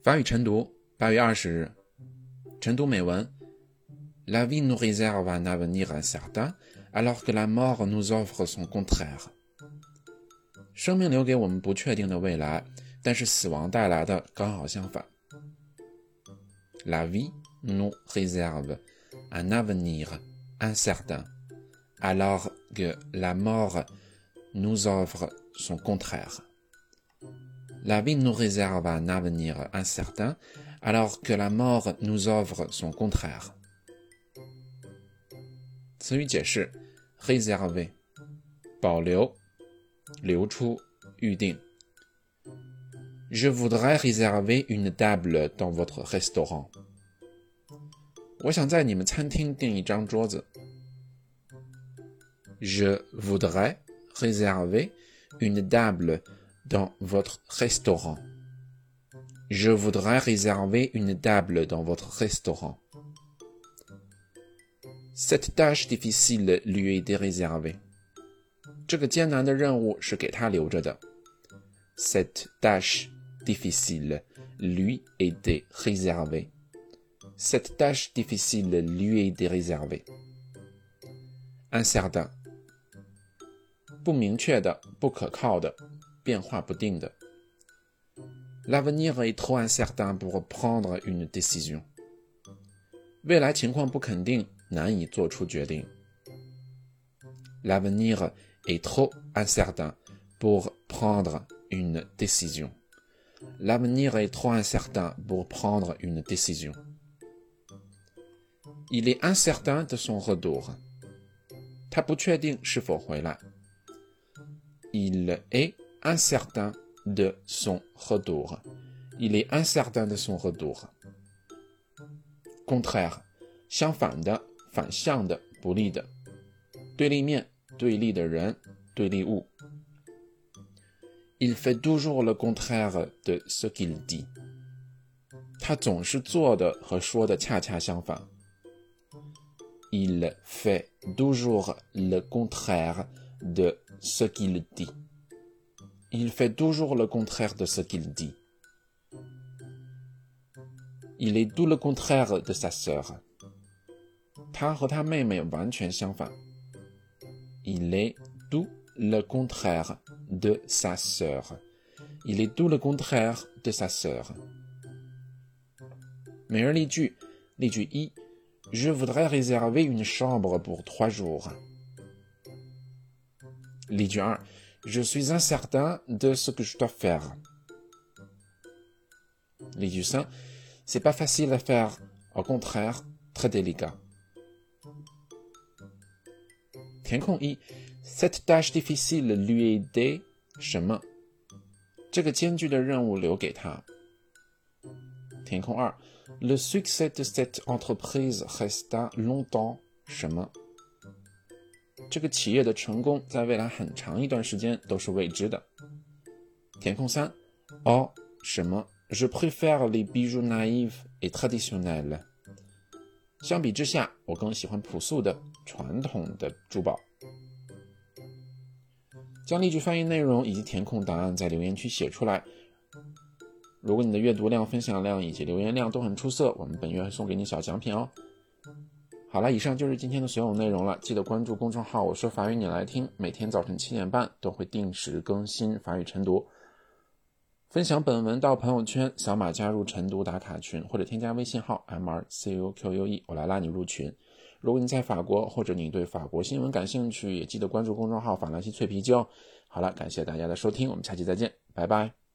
法语晨读8月20日，晨读美文。La vie nous réserve un avenir incertain, alors que la mort nous offre son contraire. 生命留给我们不确定的未来，但是死亡带来的刚好相反。La vie nous réserve un avenir incertain, alors que la mort nous offre son contraire.La vie nous réserve un avenir incertain, alors que la mort nous offre son contraire. 词语解释 réserver 保留留出预定 Je voudrais réserver une table dans votre restaurant. 我想在你们餐厅订一张桌子 Je voudrais réserver une table dans votre restaurant. Je voudrais réserver une table dans votre restaurant. Cette tâche difficile lui a été réservée. 这个艰难的任务是给他留着的。Cette tâche difficile lui a été réservée. Cette tâche difficile lui a été réservée. Incertain. 不明确的，不可靠的，变化不定的。L'avenir est trop incertain pour prendre une décision. 未来情况不肯定，难以做出决定。L'avenir est trop incertain pour prendre une décision. L'avenir est trop incertain pour prendre une décision. Il est incertain de son retour. 他不确定是否回来。Il est incertain de son retour. Il est incertain de son retour. Contraire, 相反的，反向的，不利的。对立面，对立的人，对立物。Il fait toujours le contraire de ce qu'il dit. 他总是做的和说的恰恰相反。Il fait toujours le contraire de ce qu'il dit. Il fait toujours le contraire de ce qu'il dit. Il est tout le contraire de sa sœur. 他和他妹妹完全相反。Il est tout le contraire de sa sœur. Il est tout le contraire de sa sœur. 每日例句，例句1 Je voudrais réserver une chambre pour 3 jours. 例句2 Je suis incertain de ce que je dois faire. 例句3 C'est pas facile à faire, au contraire, très délicat. 填空1 Cette tâche difficile lui a été 什么？这个艰巨的任务留给他。填空2 Le succès de cette entreprise resta longtemps 什么？这个企业的成功在未来很长一段时间都是未知的。填空3 Oh 什么 Je préfère les bijoux naïfs et traditionnels. 相比之下，我更喜欢朴素的、传统的珠宝。将例句翻译内容以及填空答案在留言区写出来。如果你的阅读量、分享量以及留言量都很出色，我们本月会送给你小奖品哦。好了，以上就是今天的所有内容了。记得关注公众号我说法语你来听，每天早晨7点半都会定时更新法语晨读。分享本文到朋友圈，扫码加入晨读打卡群，或者添加微信号 MRCUQUE， 我来拉你入群。如果你在法国，或者你对法国新闻感兴趣，也记得关注公众号法兰西脆皮鸡哦。好了，感谢大家的收听，我们下期再见，拜拜。